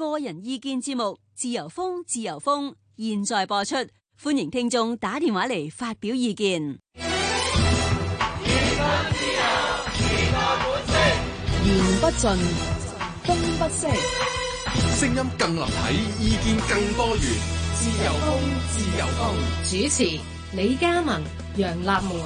個人意見節目《自由風》，自由風現在播出，歡迎聽眾打電話嚟發表意見。 言不盡，風不息， 聲音更立體，意見更多元。自由風，自由風。 主持李嘉文、楊立門。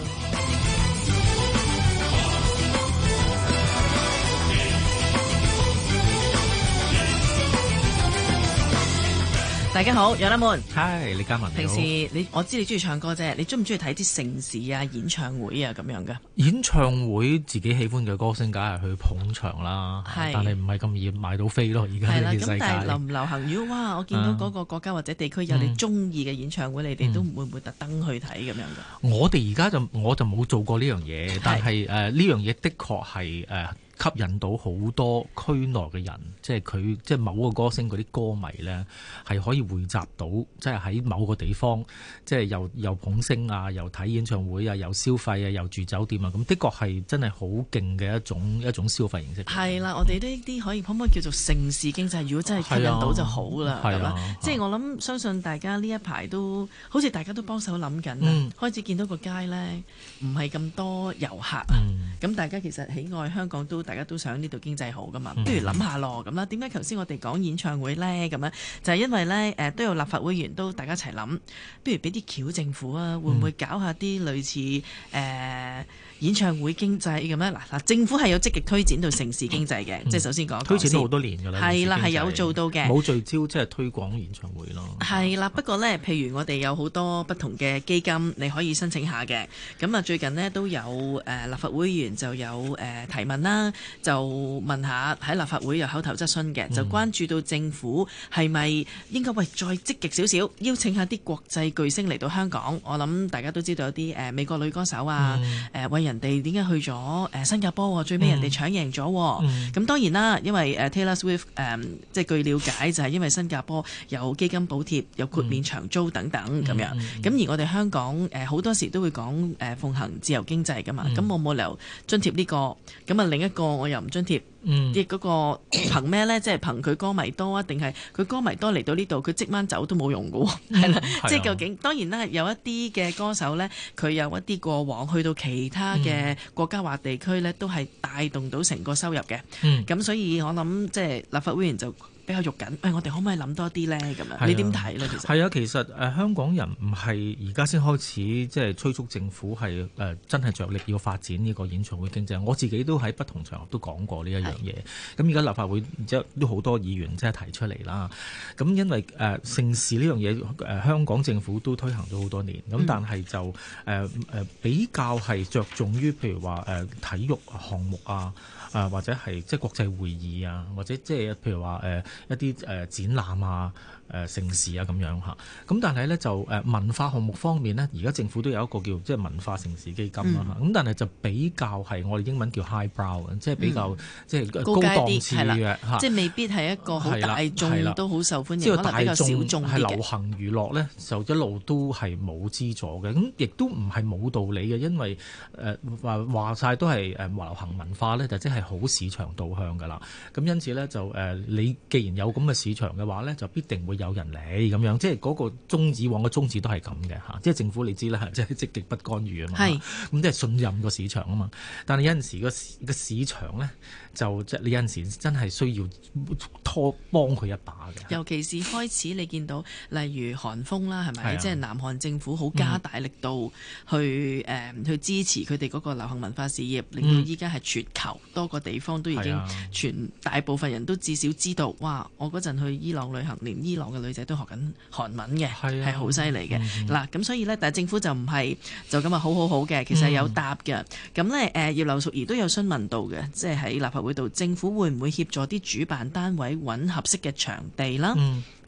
大家好，楊立門。 嗨，李嘉文。 平時我知你中意唱歌啫，你中唔中意睇啲盛事啊、演唱會啊咁樣噶？ 演唱會自己喜歡嘅歌星，梗係去捧場啦。但係唔係咁易買到飛咯。而家呢啲世界。咁但係流唔流行？如果哇，我見到嗰個國家或者地區有你中意嘅演唱會，你哋都會唔會特登去睇咁樣噶？ 我哋而家我就冇做過呢樣嘢，但係呢樣嘢的確係吸引到好多區內嘅人，即係某個歌星嗰啲歌迷咧，係可以匯集到，即係喺某個地方，即係又捧星啊，又睇演唱會啊，又消費啊，又住酒店啊，咁的確係真係好勁嘅一種消費形式。 係啦，我哋呢啲可唔可以叫做盛事經濟？如果真係吸引到就好啦，係嘛？即係我諗，相信大家呢一排都好似大家都幫手諗緊，開始見到個街咧唔係咁多遊客啊，咁大家其實喜愛香港都。大家都想呢度經濟好噶嘛，不如諗下咯咁啦。點解頭先我哋講演唱會呢？咁樣就係因為呢，都有立法會議員都大家一齊諗，不如俾啲橋政府啊，會唔會搞下啲類似演唱會經濟咁樣？嗱，政府係有積極推展到城市經濟嘅，即係首先講推展咗好多年㗎啦， 係啦，係有做到嘅， 冇聚焦即係推廣演唱會咯。 係啦，不過呢，譬如我哋有好多不同嘅基金，你可以申請下嘅。咁啊，最近呢，都有立法會議員就有提問啦。就問下喺立法會有口頭質詢嘅，就關注到政府係咪應該再積極少少，邀請下啲國際巨星嚟到香港。我諗大家都知道有啲美國女歌手啊，為人哋點解去咗新加坡，最尾人哋搶贏咗。咁當然啦，因為Taylor Swift 即係據了解就係因為新加坡有基金補貼，有豁免長租等等咁樣。咁而我哋香港好多時都會講奉行自由經濟㗎嘛，咁我冇理由津貼呢個，咁啊另一個我又唔津貼，亦嗰個憑咩呢？即係憑佢歌迷多啊，定係佢歌迷多嚟到呢度，佢即晚走都冇用㗎喎，係啦。即係究竟當然啦，有一啲嘅歌手呢，佢有一啲過往去到其他嘅國家或地區呢，都係帶動到成個收入嘅。咁所以我諗即係立法會議員就比較肉緊，我哋可唔可以諗多啲呢？咁樣你點睇呢？其實係啊，其實香港人唔係而家先開始即係催促政府係真係着力要發展呢個演唱會經濟。我自己都喺不同場合都講過呢一樣嘢。咁而家立法會都好多議員即係提出嚟啦。咁因為盛事呢樣嘢香港政府都推行咗好多年。咁但係就比較係着重於譬如話體育項目啊。或者係即係國際會議啊，或者即係譬如話一啲展覽啊、盛事啊咁樣嚇。咁但係咧就文化項目方面呢，而家政府都有一個叫即係文化盛事基金啦。咁但係就比較係我哋英文叫 high brow， 即係比較即係高檔次嘅嚇， 即係未必係一個好大眾都好受歡迎， 即係可能比較小眾啲嘅。 係流行娛樂咧，就一路都係冇資助嘅。咁亦都唔係冇道理嘅，因為話晒都係流行文化咧，就即係好市場導向㗎啦。咁因此咧就你既然有咁嘅市場嘅話咧，就必定會有人嚟咁樣。即係嗰個以往嘅宗旨都係咁嘅嚇。即係政府你知啦，即係積極不干預啊嘛。咁即係信任個市場啊嘛。但係有陣時個市場咧，就即係你有陣時真係需要幫佢一把嘅。 尤其是開始你見到例如韓風啦，係咪？即係南韓政府好加大力度去支持佢哋嗰個流行文化事業，令到依家係全球多個地方都已經全大部分人都至少知道，哇！我嗰陣去伊朗旅行，連伊朗嘅女仔都學緊韓文嘅，係好犀利嘅。嗱，咁所以呢，但係政府就唔係就咁好嘅，其實係有答嘅。咁呢，葉劉淑儀都有詢問到嘅，即係喺立法會度，政府會唔會協助啲主辦單位揾合適嘅場地啦？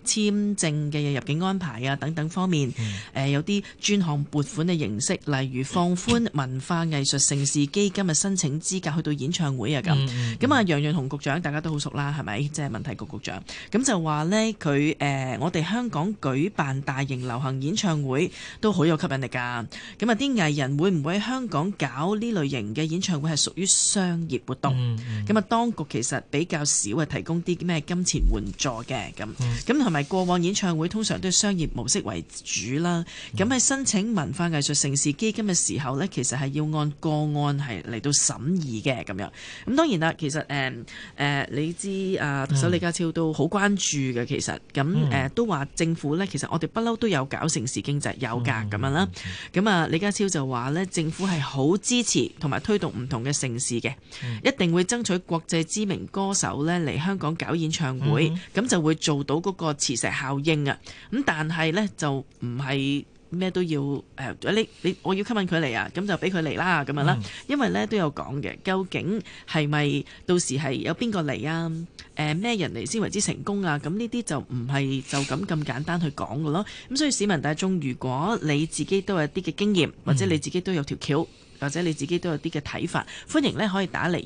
簽證嘅入境安排啊等等方面，有啲專項撥款嘅形式，例如放寬文化藝術盛事基金嘅申請資格去到演唱會啊咁。咁啊，楊潤雄局長大家都好熟啦，係咪？即係文體局局長。咁就話呢，佢我哋香港舉辦大型流行演唱會都好有吸引力㗎。咁啊，啲藝人會唔會喺香港搞呢類型嘅演唱會係屬於商業活動？咁啊，當局其實比較少係提供啲咩金錢援助嘅咁。咁同埋過往演唱會通常都係商業模式為主啦。咁喺申請文化藝術盛事基金嘅時候呢，其實係要按個案係嚟到審議嘅咁樣。咁當然啦，其實你知特首李家超都好關注嘅，其實咁都話政府呢，其實我哋不嬲都有搞盛事經濟，有㗎咁樣啦。咁啊，李家超就話呢，政府係好支持同埋推動唔同嘅盛事嘅，一定會爭取國際知名歌手呢嚟香港搞演唱會，咁就會做到嗰個磁石效應啊。咁但係呢，就唔係咩都要我要吸引佢嚟啊，咁就俾佢嚟啦咁樣啦。因為呢都有講嘅，究竟係咪到時係有邊個嚟啊？咩人嚟先為之成功啊？咁呢啲就唔係就咁簡單去講嘅咯。咁所以市民大眾，如果你自己都有啲嘅經驗，或者你自己都有條橋，或者你自己都有啲嘅睇法，歡迎呢可以打嚟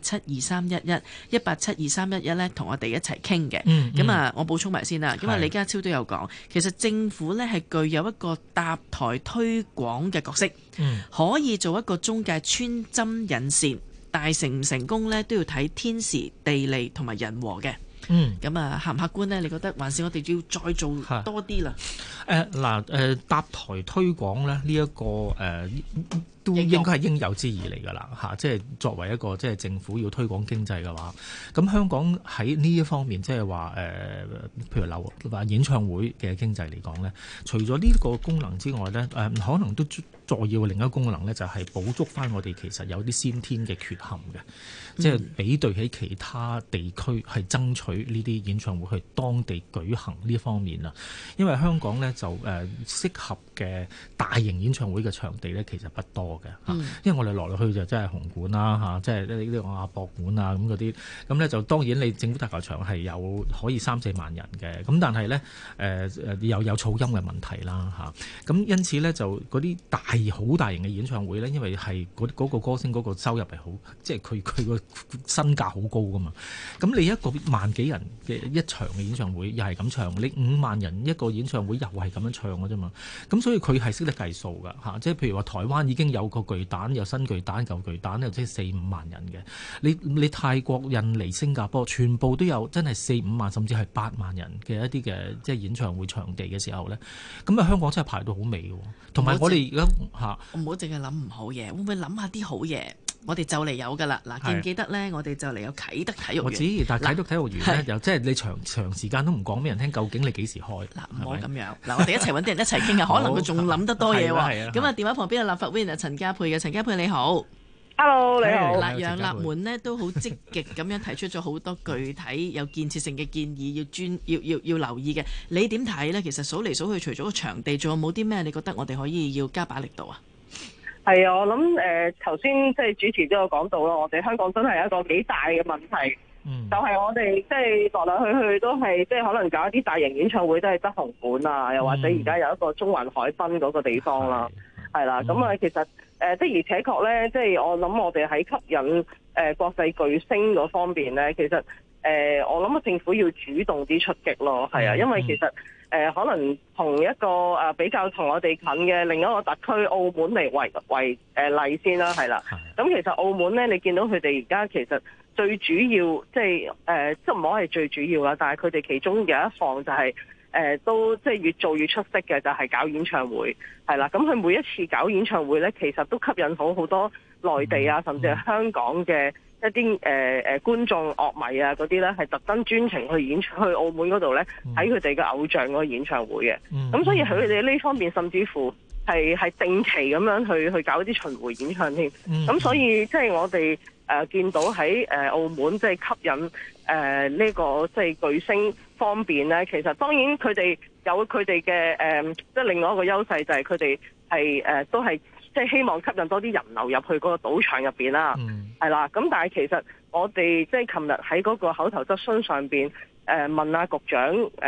1872311呢同我哋一齊傾嘅。咁啊，我補充埋先啦。咁啊，李家超都有講，其實政府呢係具有一個搭台推廣嘅角色，可以做一個中介穿針引線，但係成唔成功呢都要睇天時地利同埋人和嘅。咁啊，客唔客觀呢？你覺得還是我哋要再做多啲啦？ 搭台推廣呢，呢一個都應該係應有之義嚟㗎啦嚇，即係作為一個即係政府要推廣經濟嘅話，咁香港喺呢一方面即係話譬如話演唱會嘅經濟嚟講呢，除咗呢個功能之外呢，可能都再要另一個功能呢，就係補足翻我哋其實有啲先天嘅缺陷嘅，即係比對起其他地區係爭取呢啲演唱會去當地舉行呢方面啊，因為香港呢，就適合嘅大型演唱會嘅場地呢，其實不多。因為我哋落去就真係紅館啦，即係呢個亞博館啊咁嗰啲，咁咧就當然你政府大球場係有可以3-4萬人嘅，咁但係咧又有噪音嘅問題啦，咁因此咧就嗰啲好大型嘅演唱會咧，因為係嗰個歌星嗰個收入係好，即係佢個身價好高噶嘛，咁你一個萬幾人嘅一場嘅演唱會又係咁唱，你5萬人一個演唱會又係咁樣唱嘅啫嘛，咁所以佢係識得計數噶嚇，即係譬如話台灣已經有個巨蛋，有新巨蛋、舊巨蛋，又即係4-5萬人嘅。你泰國、印尼、新加坡，全部都有真係4-5萬，甚至係8萬人嘅一啲嘅即係演唱會場地嘅時候咧，咁啊香港真係排到好尾嘅。同埋我哋而家唔好淨係諗唔好嘢，會唔會諗下啲好嘢？我哋就嚟有㗎啦！嗱，記唔記得咧？我哋就嚟有啟德體育園。我知，但係啟德體育園咧，又即係你長時間都唔講俾人聽，究竟你幾時開？ 嗱，唔好咁樣。嗱，我哋一齊揾啲人一齊傾下，可能佢仲諗得多嘢喎。咁啊，電話旁邊嘅立法會議員陳家珮嘅，陳家珮你好。 Hello，你好。 嗱，楊立門呢都好積極咁樣提出咗好多具體有建設性嘅建議，要留意嘅。你點睇咧？其實數嚟數去，除咗個場地，仲有冇啲咩？你覺得我哋可以要加把力度啊？ 係啊，我諗頭先即係主持都有講到啦，我哋香港真係一個幾大嘅問題，就係我哋即係來來去去都係即係可能搞一啲大型演唱會都係得紅館啊，又或者而家有一個中環海濱嗰個地方啦，係啦，咁啊其實的而且確咧，即係我諗我哋喺吸引國際巨星嗰方面咧，其實我諗政府要主動啲出擊咯，係啊，因為其實可能同一個比較同我哋近嘅另一個特區澳門嚟為例先啦，係啦。咁其實澳門咧，你見到佢哋而家其實最主要即係即唔好係最主要啦，但係佢哋其中有一項就係都即係越做越出色嘅，就係搞演唱會係啦。咁佢每一次搞演唱會咧，其實都吸引好多內地啊，甚至係香港嘅一啲觀眾樂迷啊嗰啲咧，係特登專程去澳門嗰度咧睇佢哋嘅偶像嗰個演唱會嘅。咁所以佢哋呢方面甚至乎係定期咁樣去搞一啲巡迴演唱添。咁所以即係我哋見到喺澳門即係吸引呢個即係巨星方面咧，其實當然佢哋有佢哋嘅即係另外一個優勢就係佢哋係都係即係希望吸引多啲人流入去嗰個賭場入邊啦，係啦。咁但係其實我哋即係琴日喺嗰個口頭質詢上邊問下局長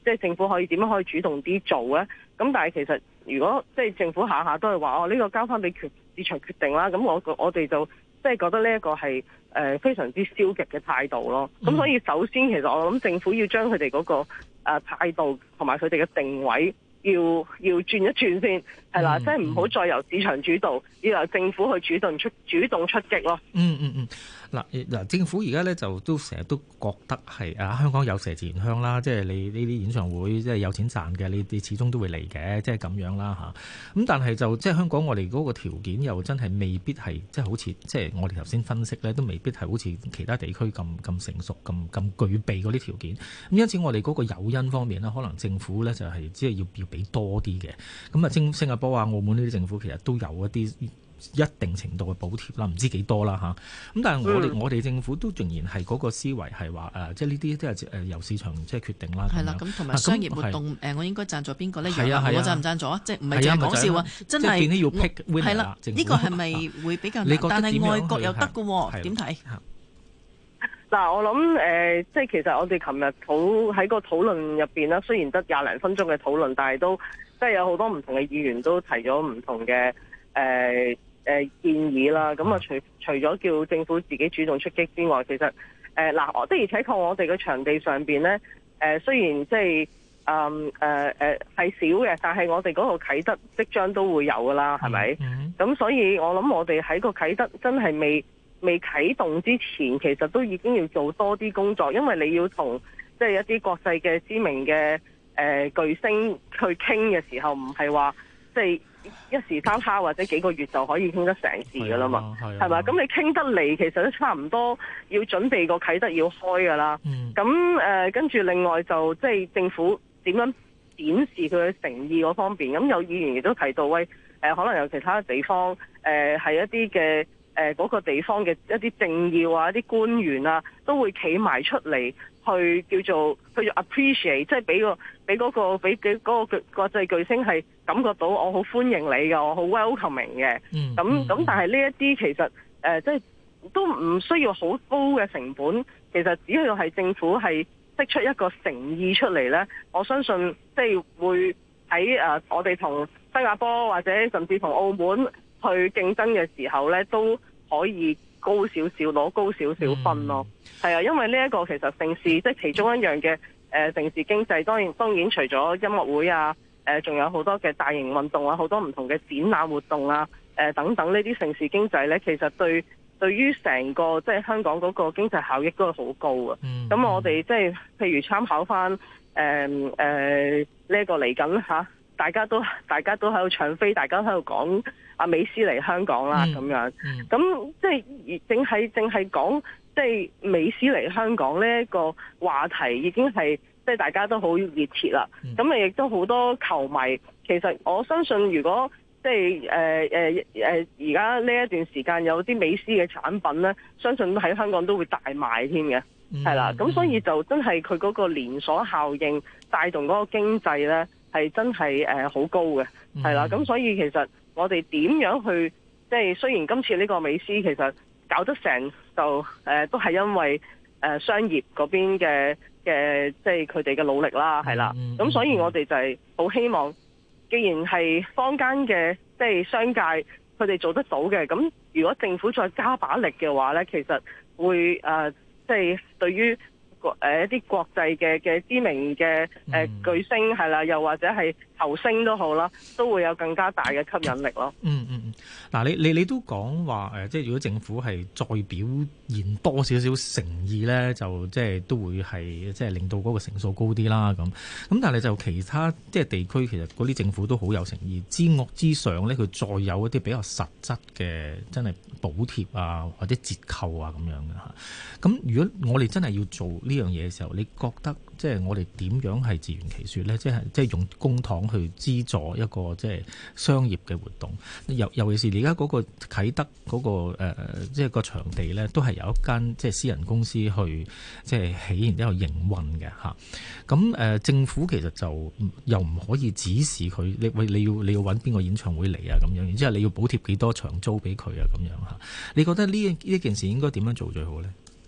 即係政府可以點樣可以主動啲做咧？咁但係其實如果即係政府下下都係話呢個交翻俾市場決定啦，咁我哋就即係覺得呢一個係非常之消極嘅態度咯。咁所以首先其實我諗政府要將佢哋嗰個態度同埋佢哋嘅定位要轉一轉先，係啦，即係唔好再由市場主導，要由政府去主動出擊咯。 嗱，政府而家咧就都成日都覺得係香港有麝自然香啦，即係你呢啲演唱會即係有錢賺嘅，你始終都會嚟嘅，即係咁樣啦嚇。咁但係就即係香港我哋嗰個條件又真係未必係即係好似即係我哋頭先分析咧，都未必係好似其他地區咁成熟咁具備嗰啲條件。咁因此我哋嗰個誘因方面呢，可能政府咧就係只係要俾多啲嘅。咁啊，新加坡啊、澳門呢啲政府其實都有一定程度嘅補貼啦，唔知幾多啦嚇。咁但係我哋政府都仍然係嗰個思維係話即係呢啲都係由市場即係決定啦。 係啦，咁同埋商業活動我應該贊助邊個咧？ 係啊， 我贊唔贊助啊？即係唔係淨係講笑啊？真係變咗要 pick winner 係啦，呢個係咪會比較難？但係外國又得嘅喎，點睇？ 嗱，我諗即係其實我哋琴日喺個討論入邊啦，雖然得20零分鐘嘅討論，但係都即係有好多唔同嘅議員都提咗唔同嘅建議啦。咁啊，除咗叫政府自己主動出擊之外，其實我的而且確我哋嘅場地上邊咧雖然即係係少嘅，但係我哋嗰個啟德即將都會有噶啦，係咪？咁所以我諗我哋喺個啟德真係未啟動之前，其實都已經要做多啲工作，因為你要同即係一啲國際嘅知名嘅巨星去傾嘅時候，唔係話即係一時三刻或者幾個月就可以傾得成事噶啦嘛，係咪？咁你傾得嚟，其實都差唔多要準備個啟德要開噶啦。咁跟住另外就即係政府點樣展示佢嘅誠意嗰方面，咁有議員亦都提到，可能有其他地方係一啲嘅嗰個地方嘅一啲政要啊、一啲官員啊，都會企埋出嚟去叫做 appreciate， 即係俾嗰個國際巨星係感覺到我好歡迎你嘅，我好 welcoming 嘅。咁但係呢一啲其實即係都唔需要好高嘅成本，其實只要係政府係釋出一個誠意出嚟呢，我相信即係會喺我哋同新加坡或者甚至同澳門去競爭嘅時候呢，都可以高少少攞高少少分咯。係啊，因為呢一個其實盛事即係其中一樣嘅盛事經濟，當然除咗音樂會啊，仲有好多嘅大型運動啊，好多唔同嘅展覽活動啊，等等呢啲盛事經濟呢，其實對於成個即係香港嗰個經濟效益都係好高啊。咁我哋即係譬如參考翻呢一個嚟緊嚇。大家都喺度搶飛，大家都喺度講阿美斯嚟香港啦咁樣。咁即係淨係講即係美斯嚟香港呢一個話題已經係即係大家都好熱切啦。咁亦都好多球迷。其實我相信如果即係而家呢一段時間有啲美斯嘅產品呢，相信喺香港都會大賣添嘅。係啦，咁所以就真係佢嗰個連鎖效應帶動嗰個經濟呢，係真係好高嘅，係啦。咁所以其實我哋點樣去即係雖然今次呢個美斯其實搞得成就都係因為商業嗰邊嘅即係佢哋嘅努力啦，係啦。咁所以我哋就係好希望，既然係坊間嘅即係商界佢哋做得到嘅，咁如果政府再加把力嘅話呢，其實會即係對於一啲國際嘅知名嘅巨星係啦，又或者係球星都好啦，都會有更加大嘅吸引力咯。 嗱，你都講話即係如果政府係再表現多少少誠意咧，就即係都會係即係令到嗰個成數高啲啦。咁但係就其他即係地區，其實嗰啲政府都好有誠意之上咧，佢再有一啲比較實質嘅真係補貼啊，或者折扣啊咁樣嘅嚇。咁如果我哋真係要做呢樣嘢嘅時候，你覺得即係我哋點樣係自圓其說咧？即係用公帑去資助一個即係商業嘅活動，尤其是而家嗰個啟德嗰個即係個場地咧，都係由一間即係私人公司去即係起，然之後營運嘅嚇。咁政府其實就又唔可以指示佢，你要揾邊個演唱會嚟啊咁樣，然之後你要補貼幾多場租俾佢啊咁樣嚇。你覺得呢件事應該點樣做最好咧？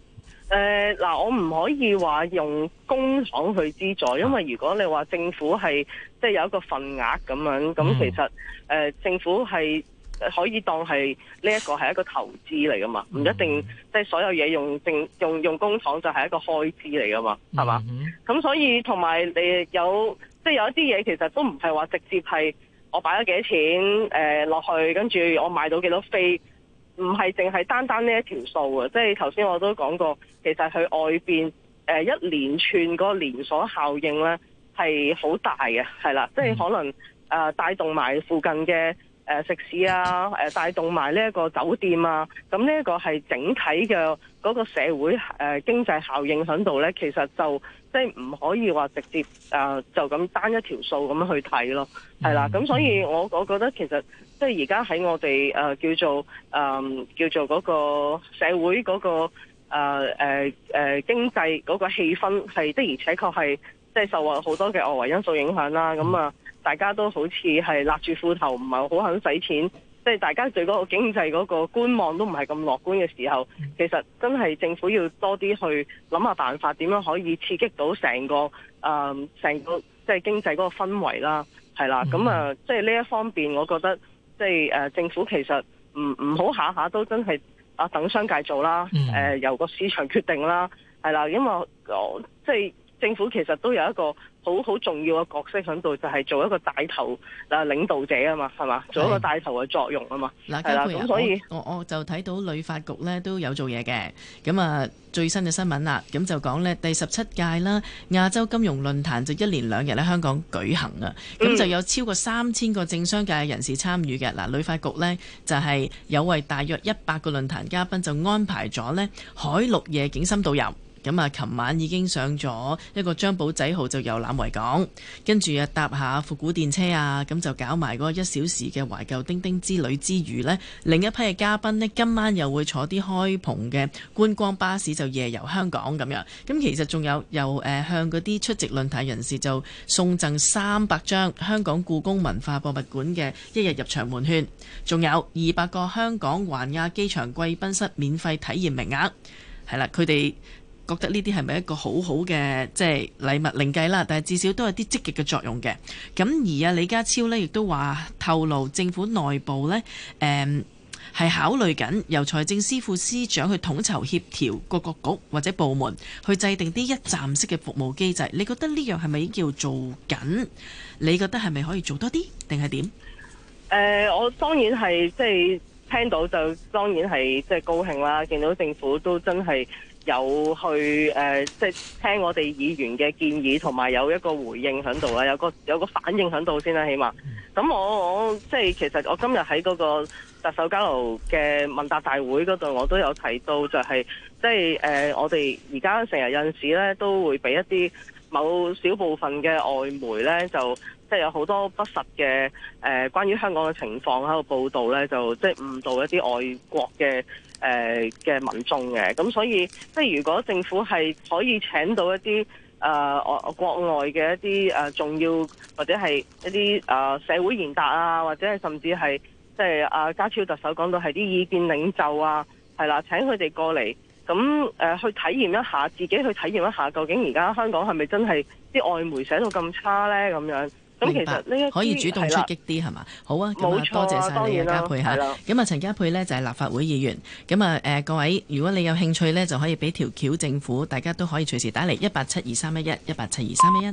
嗱，我唔可以話用公帑去資助，因為如果你話政府係即係有一個份額咁樣，咁其實政府係可以當係呢一個係一個投資嚟噶嘛，唔一定即係所有嘢用公帑就係一個開支嚟噶嘛，係嘛？咁所以同埋你有即係有一啲嘢其實都唔係話直接係我擺咗幾多錢落去，跟住我買到幾多飛。唔係淨係單單呢一條數啊！即係頭先我都講過，其實去外邊一連串嗰個連鎖效應咧係好大嘅，係啦，即係可能帶動埋附近嘅食肆啊，帶動埋呢一個酒店啊，咁呢一個係整體嘅嗰個社會經濟效應喺度咧，其實就即係唔可以話直接就咁單一條數咁樣去睇咯，係啦，咁所以我覺得其實。即係而家喺我哋叫做嗰個社會嗰個經濟嗰個氣氛係的而且確係即係受好多嘅外圍因素影響啦。咁大家都好似係勒住褲頭，唔係好肯使錢。即係大家對嗰個經濟嗰個觀望都唔係咁樂觀嘅時候，其實真係政府要多啲去諗下辦法，點樣可以刺激到成個即係經濟嗰個氛圍啦。係啦，咁即係呢一方面，我覺得。即係政府其實唔好下下都真係等商界做啦，由個市場決定啦，係啦，因為即係政府其實都有一個好重要嘅角色喺度，就係做一個帶頭領導者啊嘛，係嘛，做一個帶頭嘅作用啊嘛。 嗱，家珮啊，所以我就睇到旅發局咧都有做嘢嘅，咁最新嘅新聞啦，咁就講呢第17屆啦亞洲金融論壇就1連2日喺香港舉行啊，咁就有超過3000個政商界嘅人士參與嘅。嗱，旅發局呢就係有為大約100個論壇嘉賓就安排咗呢海陸夜景深度遊。咁琴晚已經上咗一個張保仔號就遊覽維港，跟住搭下復古電車啊，咁就搞埋嗰個1小時嘅懷舊丁丁之旅之餘呢，另一批嘅嘉賓呢，今晚又會坐啲開篷嘅觀光巴士就夜遊香港咁樣。咁其實仲有又向嗰啲出席論壇人士就送贈300張香港故宮文化博物館嘅1日入場門券，仲有200個香港環亞機場貴賓室免費體驗名額。係啦，佢哋覺得呢啲係咪一個好好嘅即係禮物另計啦，但係至少都有啲積極嘅作用嘅。咁而李家超呢亦都話透露政府內部呢係考慮緊由財政司副司長去統籌協調各個局或者部門去制定啲一站式嘅服務機制。你覺得呢樣係咪已經叫做緊？你覺得係咪可以做多啲定係點？ 我當然係即係聽到就當然係即係高興啦，見到政府都真係有去即係聽我哋議員嘅建議，同埋有一個回應喺度啦，有個反應喺度先啦，起碼。咁我即係其實我今日喺嗰個特首交流嘅問答大會嗰度，我都有提到就係即係我哋而家成日有陣時咧都會俾一啲某小部分嘅外媒咧就即係有好多不實嘅關於香港嘅情況喺度報導咧，就即係誤導一啲外國嘅民眾嘅。咁所以即係如果政府係可以請到一啲國外嘅一啲重要或者係一啲社會賢達啊，或者係甚至係即係家超特首講到係啲意見領袖啊，係啦，請佢哋過嚟咁去體驗一下，自己去體驗一下，究竟而家香港係咪真係啲外媒寫到咁差咧？咁樣咁其實呢一可以主動出擊啲係嘛？好啊，咁多謝晒你家珮嚇。咁陳家珮呢就係立法會議員。咁各位，如果你有興趣呢，就可以俾條橋政府，大家都可以隨時打嚟1872311 1872311。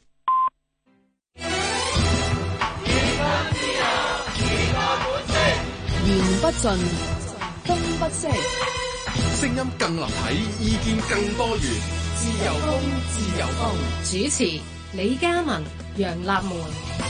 言不盡，風不息， 聲音更立體，意見更多元，自由風，自由風。 主持李嘉文、楊立門。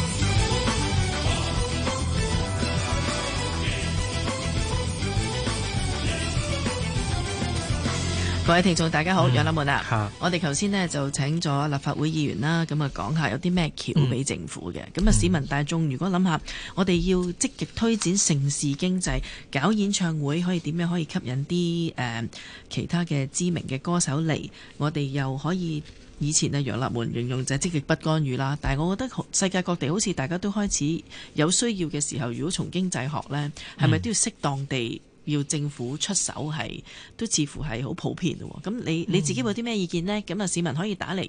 各位聽眾大家好，楊立門啊，我哋頭先呢就請咗立法會議員啦，咁講下有啲咩橋俾政府嘅。咁市民大眾如果諗下，我哋要積極推展盛事經濟，搞演唱會可以點樣可以吸引啲其他嘅知名嘅歌手嚟，我哋又可以以前楊立門形容就係積極不干預啦。但係我覺得世界各地好似大家都開始有需要嘅時候，如果從經濟學呢，係咪都要適當地要政府出手係都似乎係好普遍喎。咁你自己有啲咩意見呢？咁啊，市民可以打嚟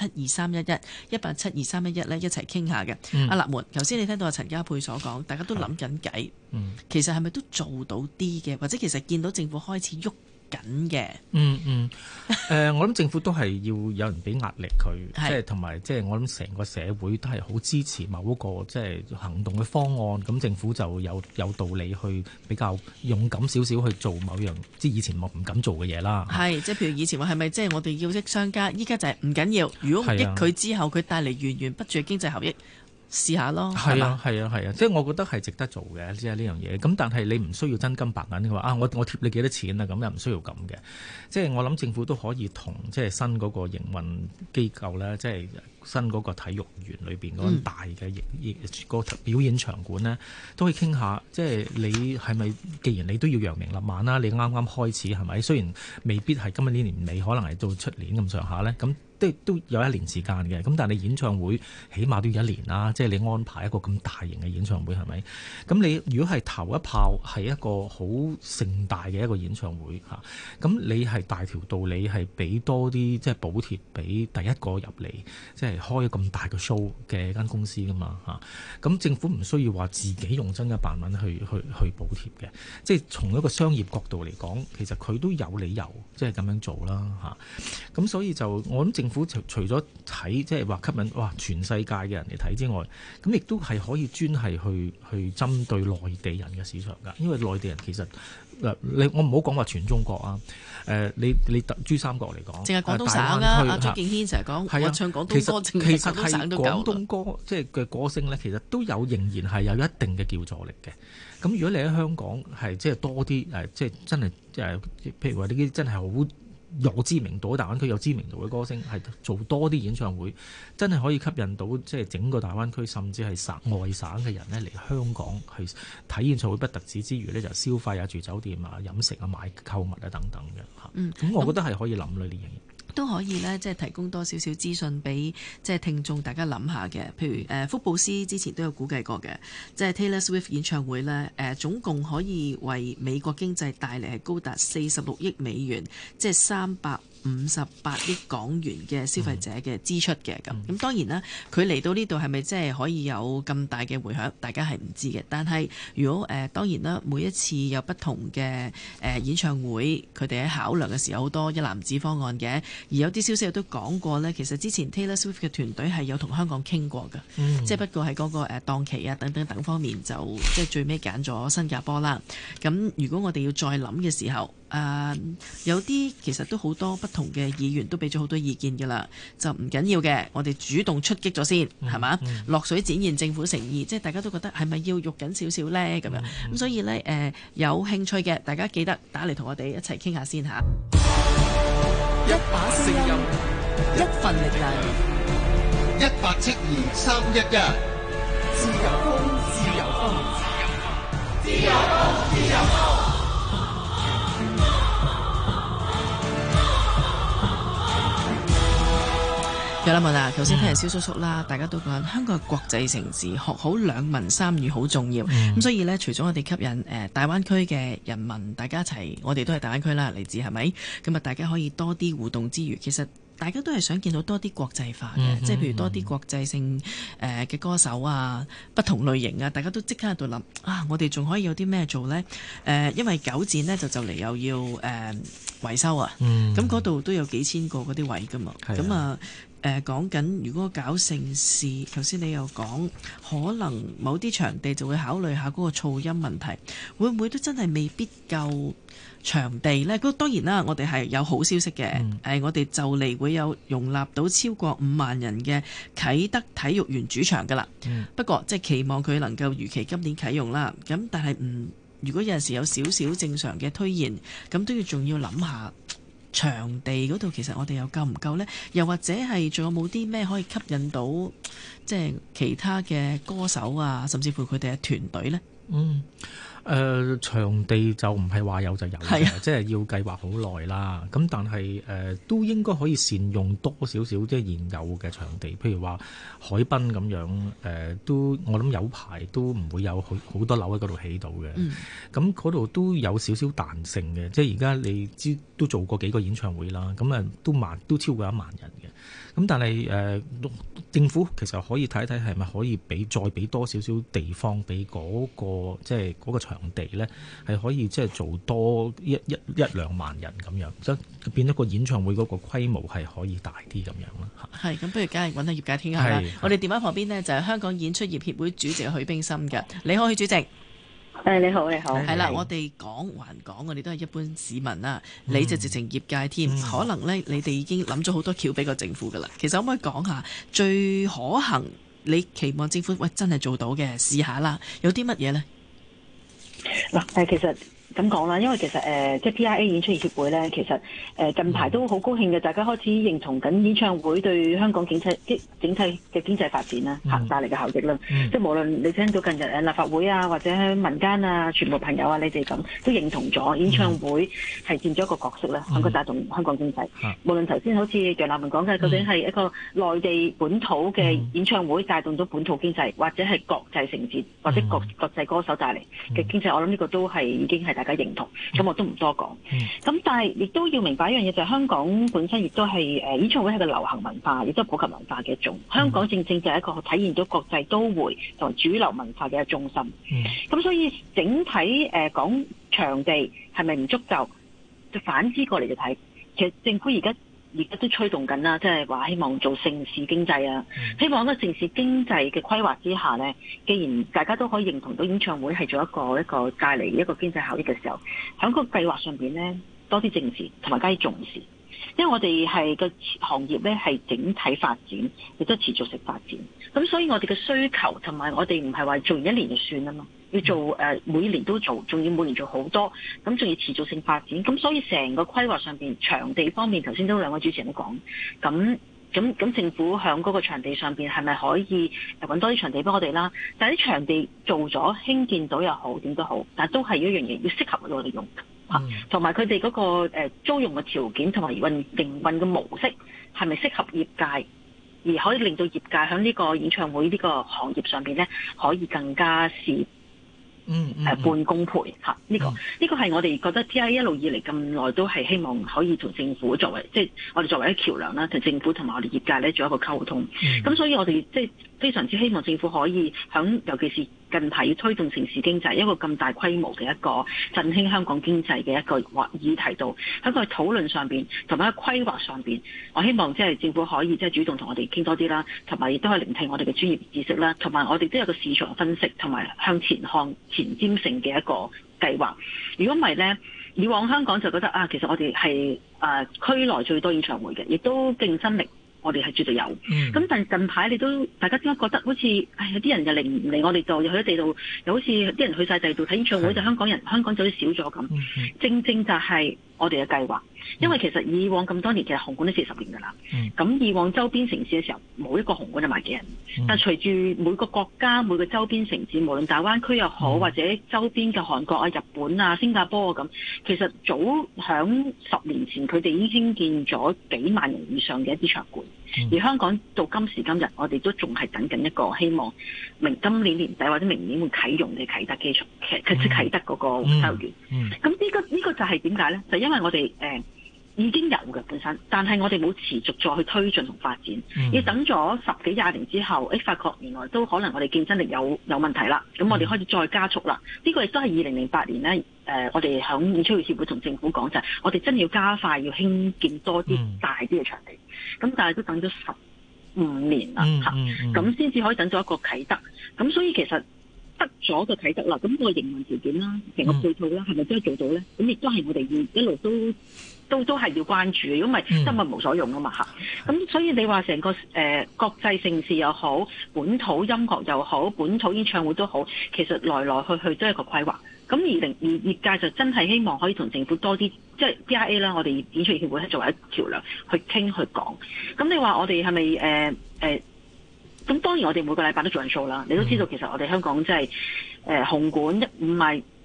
1872311呢一齊傾下嘅。阿立門，頭先你聽到阿陳家珮所講，大家都諗緊計，其實係咪都做到啲嘅，或者其實見到政府開始喐緊嘅？ 我諗政府都係要有人俾壓力佢，即係同埋即係我諗成個社會都係好支持某一個即係行動嘅方案，咁政府就有道理去比較勇敢少少去做某樣即係以前我唔敢做嘅嘢啦。 係即係譬如以前話係咪即係我哋要益商家，依家就係唔緊要，如果唔益佢之後佢帶嚟源源不絕嘅經濟效益。試下咯， 係啊，即係我覺得係值得做嘅，即係呢樣嘢。咁但係你唔需要真金白銀嘅話我貼你幾多錢啊？咁又唔需要咁嘅。即係我諗政府都可以同即係新嗰個營運機構咧，即係新嗰個體育園裏邊嗰個大嘅個表演場館呢，都可以傾下。即係你係咪？既然你都要揚名立萬啦，你啱啱開始係咪？雖然未必係今日呢年尾，可能係到出年咁上下咧，咁。都有一年時間嘅，咁但係你演唱會起碼都要1年啦，即係你安排一個咁大型嘅演唱會係咪？咁你如果係頭一炮係一個好盛大嘅一個演唱會嚇，咁你係大條道理係俾多啲即係補貼俾第一個入嚟，即係開咁大嘅 show 嘅間公司噶嘛嚇，咁政府唔需要話自己用真一百蚊去補貼嘅，即係從一個商業角度嚟講，其實佢都有理由即係咁樣做啦嚇，咁所以就我諗政府除咗睇即係話吸引全世界嘅人嚟睇之外，咁亦都係可以專係去針對內地人嘅市場㗎。因為內地人其實我唔好講話全中國啊，你珠三角嚟講， 淨係廣東省啊，阿張敬軒成日講我唱廣東歌，其實係廣東歌即係嘅歌聲咧，其實都仍然係有一定嘅叫座力嘅。咁如果你喺香港係即係多啲即係真係譬如話呢啲真係好有知名度，大灣區有知名度嘅歌星係做多啲演唱會，真係可以吸引到即係整個大灣區甚至係外省嘅人呢嚟香港去睇演唱會，不特止之餘呢，就消費啊、住酒店啊、飲食啊、買購物啊等等嘅嚇。咁我覺得係可以諗呢啲嘢。 都可以呢，即係提供多少少資訊俾即係聽眾大家諗下嘅。譬如福布斯之前都有估計過嘅，即係 Taylor Swift 演唱會呢，總共可以為美國經濟帶嚟係高達46億美元，即係358億港元嘅消費者嘅支出嘅咁。咁當然啦，佢嚟到呢度係咪即係可以有咁大嘅迴響，大家係唔知嘅。但係如果當然啦，每一次有不同嘅演唱會，佢哋喺考量嘅時候好多一籃子方案嘅。而有啲消息都講過呢，其實之前 Taylor Swift 嘅團隊係有同香港傾過嘅，即係不過喺嗰個檔期啊等方面就即係最尾揀咗新加坡啦。咁如果我哋要再諗嘅時候，有啲其實都好多不同嘅議員都俾咗好多意見㗎啦，就唔緊要嘅，我哋主動出擊咗先，係嘛？落水展現政府誠意，即係大家都覺得係咪要肉緊少少呢？咁樣咁所以呢，有興趣嘅大家記得打嚟同我哋一齊傾下先嚇。 一把聲音， 一份力量 ，172-311，自由風，自由風，自由風，自由風，自由風。 有啦，問啊，頭先聽人蕭叔叔啦，大家都講香港係國際城市，學好兩文三語好重要。咁所以呢，除咗我哋吸引大灣區嘅人民，大家一齊，我哋都係大灣區啦，嚟自係咪？咁啊，大家可以多啲互動之餘，其實大家都係想見到多啲國際化嘅，即係譬如多啲國際性嘅歌手啊，不同類型啊，大家都即刻喺度諗啊，我哋仲可以有啲咩做呢？因為九展呢就嚟又要維修啊，咁嗰度都有幾千個嗰啲位㗎嘛，咁啊。講緊如果搞盛事，頭先你又講可能某啲場地就會考慮下嗰個噪音問題，會唔會都真係未必夠場地呢？咁當然啦，我哋係有好消息嘅，我哋就嚟會有容納到超過5萬人嘅啟德體育園主場㗎啦。不過即係期望佢能夠如期今年啟用啦。咁但係如果有陣時有少少正常嘅推延，咁都仲要諗下。場地嗰度其實我哋又夠唔夠呢？又或者係仲有冇啲咩可以吸引到即係其他嘅歌手啊，甚至乎佢哋嘅團隊呢？ 場地就唔係話有就有嘅，即係要計劃好耐啦。咁但係都應該可以善用多少少即係現有嘅場地，譬如話海濱咁樣都我諗有排都唔會有好多樓喺嗰度起到嘅。咁嗰度都有少少彈性嘅，即係而家你知都做過幾個演唱會啦，咁都超過1萬人嘅。咁但係政府其實可以睇一睇係咪可以再俾多少少地方俾嗰個即係嗰個場地咧，係可以即係做多1-2萬人咁樣，即係變咗個演唱會嗰個規模係可以大啲咁樣啦。係咁，不如梗係揾下業界傾下啦。我哋電話旁邊呢，就係香港演出業協會主席許冰心嘅。你好，許主席。 你好，你好。 係啦，我哋講還講，我哋都係一般市民啦。你就直情業界添，可能呢，你哋已經諗咗好多橋俾個政府噶啦。其實可唔可以講下最可行？你期望政府真係做到嘅，試下啦。有啲乜嘢呢？ 嗱，其實咁講啦，因為其實即係 PIA 演出業協會咧，其實近排都好高興嘅，大家開始認同緊演唱會對香港整體嘅經濟發展啦，帶嚟嘅效益啦。即係無論你聽到近日立法會啊，或者民間啊，全部朋友啊，你哋咁都認同咗演唱會係佔咗一個角色啦，喺個帶動香港經濟。無論頭先好似楊立文講嘅，究竟係一個內地本土嘅演唱會帶動咗本土經濟，或者係國際承接，或者國際歌手帶嚟嘅經濟，我諗呢個都係已經係大家認同，咁我都唔多講。咁但係亦都要明白一樣嘢，就係香港本身亦都係演唱會係個流行文化，亦都係普及文化嘅一種。香港正正就係一個體現到國際都會同主流文化嘅一個中心。咁所以整體講場地係咪唔足夠，就反之過嚟就睇，其實政府而家都推動緊啦，即係話希望做盛事經濟啊，希望喺個盛事經濟嘅規劃之下呢，既然大家都可以認同到演唱會係做一個帶嚟一個經濟效益嘅時候，喺個計劃上邊呢，多啲正視同埋加啲重視，因為我哋係個行業呢係整體發展，亦都持續性發展，咁所以我哋嘅需求同埋我哋唔係話做完1年就算啊嘛。要做每年都做，仲要每年做好多，咁仲要持續性發展，咁所以成個規劃上邊場地方面，頭先都兩位主持人都講，咁政府響嗰個場地上邊係咪可以揾多啲場地幫我哋啦？但係啲場地做咗興建到又好，點都好，但係都係一樣嘢要適合我哋用嚇，同埋佢哋嗰個租用嘅條件同埋營運嘅模式係咪適合業界？而可以令到業界喺呢個演唱會呢個行業上邊咧，可以更加半功倍嚇，呢個係我哋覺得 PIA 一路以嚟咁耐都係希望可以同政府作為，即係我哋作為一個橋梁啦，同政府同埋我哋業界咧做一個溝通。咁所以我哋即係非常之希望政府可以響，尤其是近排要推動城市經濟一個咁大規模嘅一個振興香港經濟嘅一個議題度，喺個討論上邊同埋喺規劃上邊，我希望即係政府可以即係主動同我哋傾多啲啦，同埋亦都可以聆聽我哋嘅專業知識啦，同埋我哋都有個市場分析同埋向前看前瞻性嘅一個計劃。如果唔係呢，以往香港就覺得其實我哋係區內最多演唱會嘅，亦都競爭力我哋係絕對有。咁但係近排大家點解覺得好似有啲人又嚟唔嚟我哋度，又去咗地度，又好似啲人去晒地度睇演唱會，就香港就好似少咗咁。正正就係我哋嘅計劃，因為其實以往咁多年，其實紅館都40年㗎啦。咁以往周邊城市嘅時候，冇一個紅館就萬幾人。但隨住每個國家每個周邊城市，無論大灣區又好，或者周邊嘅韓國啊、日本啊、新加坡啊咁，其實早響10年前，佢哋已經興建咗幾萬人以上嘅一啲場館。而香港到今時今日，我哋都仲係等緊一個希望今年年底或者明年會啟用嘅啟德機場，啟德嗰個回收園。咁呢個就係點解呢？就因為我哋已經有嘅本身，但係我哋冇持續再去推進同發展，要等咗10幾20年之後，發覺原來都可能我哋競爭力有問題啦。咁我哋開始再加速啦。呢個亦都係2008年呢，我哋響演出業協會同政府講就係，我哋真係要加快要興建多啲大啲嘅場地。咁但係都等咗15年啦嚇，咁先至可以等咗一個啟德。咁所以其實得咗個啟德啦，咁個營運條件啦，成個配套啦，係咪真係做到咧？咁亦都係我哋要一路都係要關注嘅，如果唔係真係無所用啊嘛嚇。咁所以你話成個國際盛事又好，本土音樂又好，本土演唱會都好，其實來來去去都係一個規劃。咁而業界就真係希望可以同政府多啲，即係 PIA 啦，我哋演出業協會係作為一橋梁去傾去講。咁你話我哋係咪咁當然我哋每個禮拜都做緊 show 啦。你都知道其實我哋香港即係紅館唔係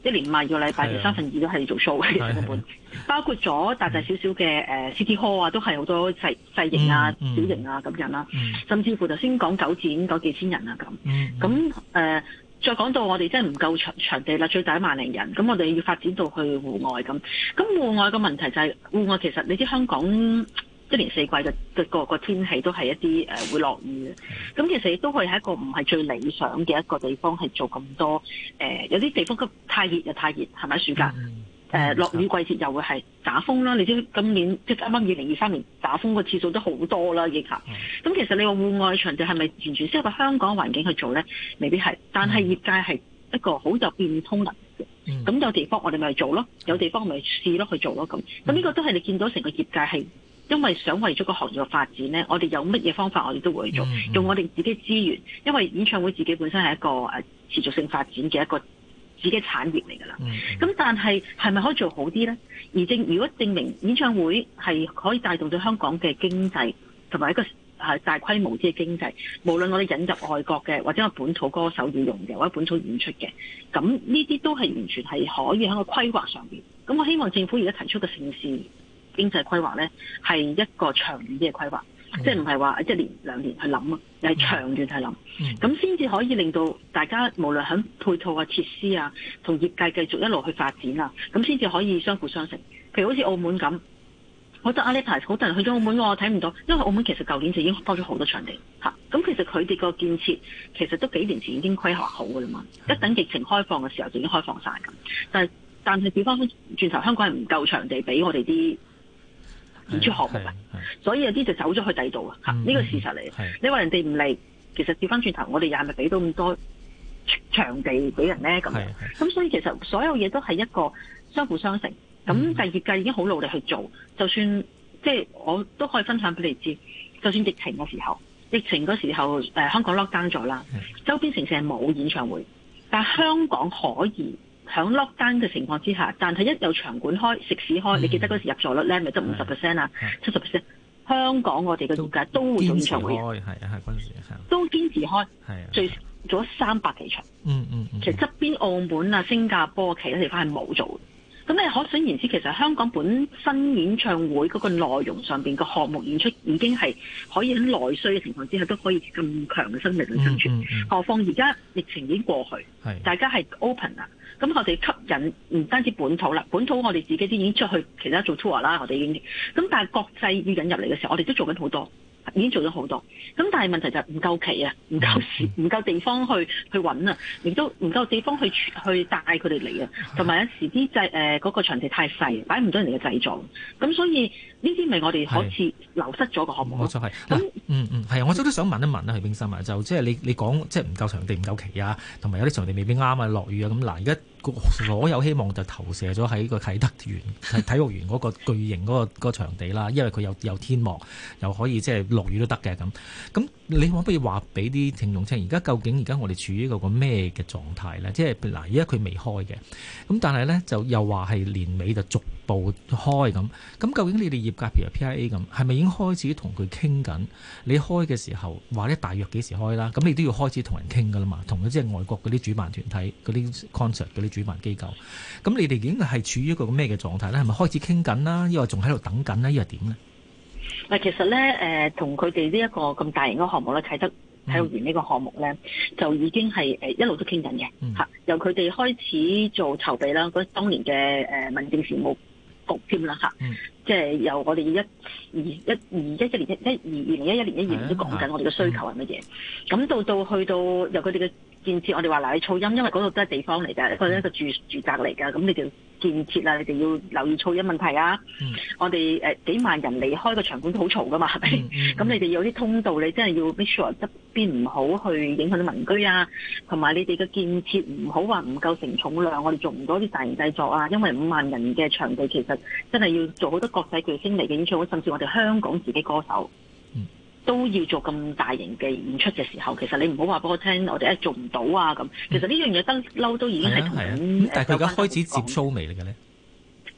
一年52個禮拜，其實2/3都係做 show 嘅，其實根本包括咗大大小小嘅City Hall 啊，都係好多細型啊、小型啊咁樣啦，甚至乎頭先講九展幾千人啊咁，再講到我哋真係唔夠場地啦，最大1萬000人，咁我哋要發展到去戶外咁。咁戶外嘅問題就係戶外其實你知香港一年四季嘅個天氣都係一啲會落雨嘅，咁其實亦都可以係一個唔係最理想嘅一個地方係做咁多有啲地方太熱又太熱，係咪暑假？落雨季節又會係打風啦，你知今年即係啱啱2023年打風個次數都好多啦，亦嚇。咁其實你話戶外場地係咪完全適合香港環境去做咧？未必係，但係業界係一個好有變通能力嘅。咁有地方我哋咪做咯，有地方咪試咯去做咯咁。咁呢個都係你見到成個業界係因為想為咗個行業嘅發展咧，我哋有乜嘢方法我哋都會做，用我哋自己資源，因為演唱會自己本身係一個持續性發展嘅一個自己產業嚟㗎啦，咁但係係咪可以做好啲呢？而如果證明演唱會係可以帶動到香港嘅經濟，同埋一個大規模啲嘅經濟，無論我哋引入外國嘅，或者我本土歌手要用嘅，或者本土演出嘅，咁呢啲都係完全係可以喺個規劃上邊。咁我希望政府而家提出嘅城市經濟規劃呢，係一個長遠啲嘅規劃。即係唔係話1年2年去諗啊，又係長遠去諗，咁先至可以令到大家無論喺配套啊、設施啊，同業界繼續一路去發展啊，咁先至可以相輔相成。譬如好似澳門咁，我覺得呢排好多人去咗澳門，我睇唔到，因為澳門其實舊年就已經多咗好多場地嚇。咁其實佢哋個建設其實都幾年前已經規劃好㗎啦嘛，一等疫情開放嘅時候就已經開放晒咁。但係調翻轉頭，香港係唔夠場地俾我哋啲演出項目啊，所以有啲就走咗去第二度啊，呢個事實嚟。你話人哋唔嚟，其實調翻轉頭，我哋又係咪俾到咁多場地俾人咧？咁所以其實所有嘢都係一個相輔相成。咁第二業界已經好努力去做，就算即係我都可以分享俾你知，就算疫情嘅時候，香港 lock down 咗啦，周邊城市係冇演唱會，但係香港可以。喺 lockdown 嘅情況之下，但係一有場館開、食肆開，你記得嗰時入座率咧，咪得50% 啊、70%。香港我哋嘅業界都會做演唱會， 係嗰陣時都堅持開，最少做咗300幾場。其實側邊澳門啊、新加坡其他地方係冇做嘅。咁你可想而知，其實香港本身演唱會嗰個內容上邊個項目演出已經係可以喺內需嘅情況之下都可以咁強嘅生命力生存。何況而家疫情已經過去，大家係 open 啦。咁我哋吸引唔單止本土啦，本土我哋自己都已經出去其他做 tour 啦，我哋已經。咁但係國際要引入嚟嘅時候，我哋都做緊好多。已經做咗好多，咁但係問題就係唔夠期啊，唔夠時，唔夠地方去揾啊，亦都唔夠地方去帶佢哋嚟啊，同埋有時啲嗰個場地太細，擺唔到人哋嘅製作，咁所以呢啲咪我哋好似流失咗個項目咯。冇錯係，咁係啊，我都想問一問啦，許冰心啊，就即係你講即係唔夠場地、唔夠期啊，同埋有啲場地未必啱啊，落雨啊，咁嗱而家。所有希望就投射咗喺個啟德體育園嗰個巨型嗰個場地啦，因為佢有天幕，又可以即係落雨都得嘅咁。咁你可唔可以話俾啲聽眾聽，而家究竟而家我哋處於一個咩嘅狀態咧？即係嗱，而家佢未開嘅，咁但係咧就又話係年尾就逐步開咁。咁究竟你哋業界譬如 PIA 咁，係咪已經開始同佢傾緊？你開嘅時候話咧大約幾時開啦？咁你都要開始同人傾噶啦嘛，同即係外國嗰啲主辦團體嗰啲 concert 嗰啲主辦機構，咁你哋已經係處於一個咩嘅狀態咧？係咪開始傾緊啦？抑或仲喺度等緊咧？抑或點咧？ 嗱，其實咧，同佢哋呢一個咁大型嘅項目咧，啟德體育園呢個項目咧，就已經係一路都傾緊嘅嚇。由佢哋開始做籌備啦，嗰當年嘅民政事務局添啦嚇，即係由我哋2011年都講緊我哋嘅需求係乜嘢，咁到去到由佢哋嘅建設，我哋話嗱，你噪音，因為嗰度都係地方嚟㗎，一個住宅嚟㗎，咁你哋建設啦，你哋要留意噪音問題啊。我哋幾萬人離開個場館都好嘈㗎嘛，係咪？咁你哋有啲通道，你真係要 make sure 側邊唔好去影響到民居啊，同埋你哋嘅建設唔好話唔夠承重量，我哋做唔到啲大型製作啊，因為5萬人嘅場地其實真係要做好多國際巨星嚟嘅演唱會，甚至我哋香港自己歌手。都要做咁大型嘅演出嘅時候，其實你唔好話俾我聽，我哋做唔到啊咁。其實呢樣嘢得嬲都已經係同緊。 但係佢而家開始接 show 未嚟嘅咧？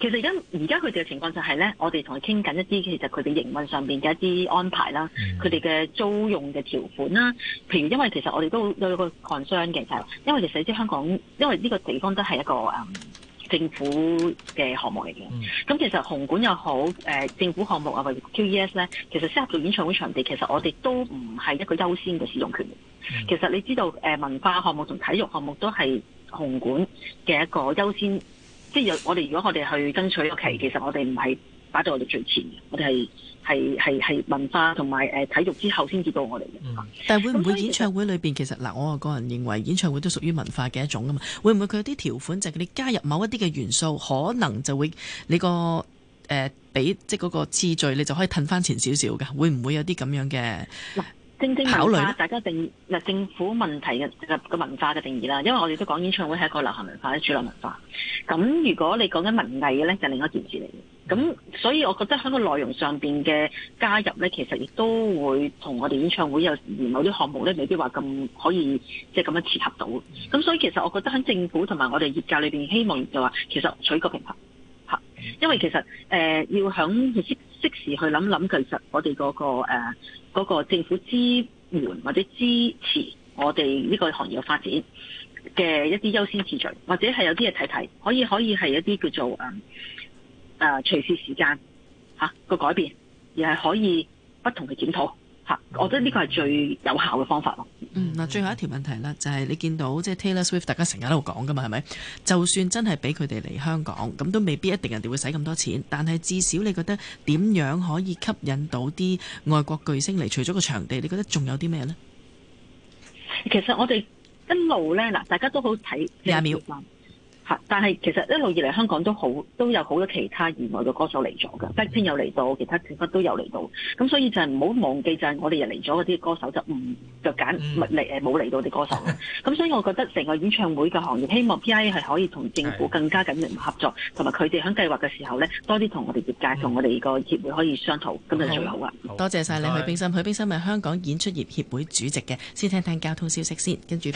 其實而家佢哋嘅情況就係咧，我哋同佢傾緊一啲其實佢哋營運上邊嘅一啲安排啦，佢哋嘅租用嘅條款啦。譬如因為其實我哋都有個 concern 嘅，就係因為其實你知香港，因為呢個地方都係一個政府嘅項目嚟嘅。咁其實紅館又好，政府項目啊或者 QES 咧，其實適合做演唱會場地，其實我哋都唔係一個優先嘅使用權。其實你知道文化項目同體育項目都係紅館嘅一個優先。即係我哋如果我哋去爭取個期，其實我哋唔係擺到我哋最前嘅，我哋係文化同埋體育之後先至到我哋嘅。 但係會唔會演唱會裏邊其實嗱，我個人認為演唱會都屬於文化嘅一種啊嘛。會唔會佢有啲條款就係你加入某一啲嘅元素，可能就會你個俾即係嗰個次序，你就可以褪翻前少少㗎？會唔會有啲咁樣嘅？ 正文化大家定嗱政府問題嘅個文化嘅定義啦，因為我哋都講演唱會係一個流行文化、主流文化。咁如果你講緊文藝嘅咧，就另一件事嚟嘅。咁所以我覺得喺個內容上邊嘅加入咧，其實亦都會同我哋演唱會有某啲項目咧，未必話咁可以即係咁樣切合到。咁所以其實我覺得喺政府同埋我哋業界裏邊，希望就話其實取個平衡嚇，因為其實要響適時去諗諗，其實我哋嗰個政府支援或者支持我哋呢個行業嘅發展嘅一啲優先次序，或者係有啲嘢睇睇，可以係一啲叫做隨時時間個改變，而係可以不同嘅檢討嚇。我覺得呢個係最有效嘅方法咯。 嗱，最後一條問題啦，就係你見到即係 Taylor Swift，大家成日喺度講噶嘛，係咪？就算真係俾佢哋嚟香港，咁都未必一定人哋會使咁多錢，但係至少你覺得點樣可以吸引到啲外國巨星嚟？除咗個場地，你覺得仲有啲咩呢？ 其實我哋一路咧，嗱，大家都好睇 20秒。 但係其實一路以嚟香港都有好多其他以外嘅歌手嚟咗嘅，Blackpink有嚟到，其他成分都有嚟到。咁所以就係唔好忘記，就係我哋人嚟咗嗰啲歌手就揀冇嚟到啲歌手。咁所以我覺得成個演唱會嘅行業，希望 PIA 係可以同政府更加緊密合作，同埋佢哋喺計劃嘅時候咧，多啲同我哋業界同我哋個協會可以商討，咁就最好啦。 多謝晒你，許冰心。許冰心係香港演出業協會主席嘅。先聽聽交通消息先，跟住。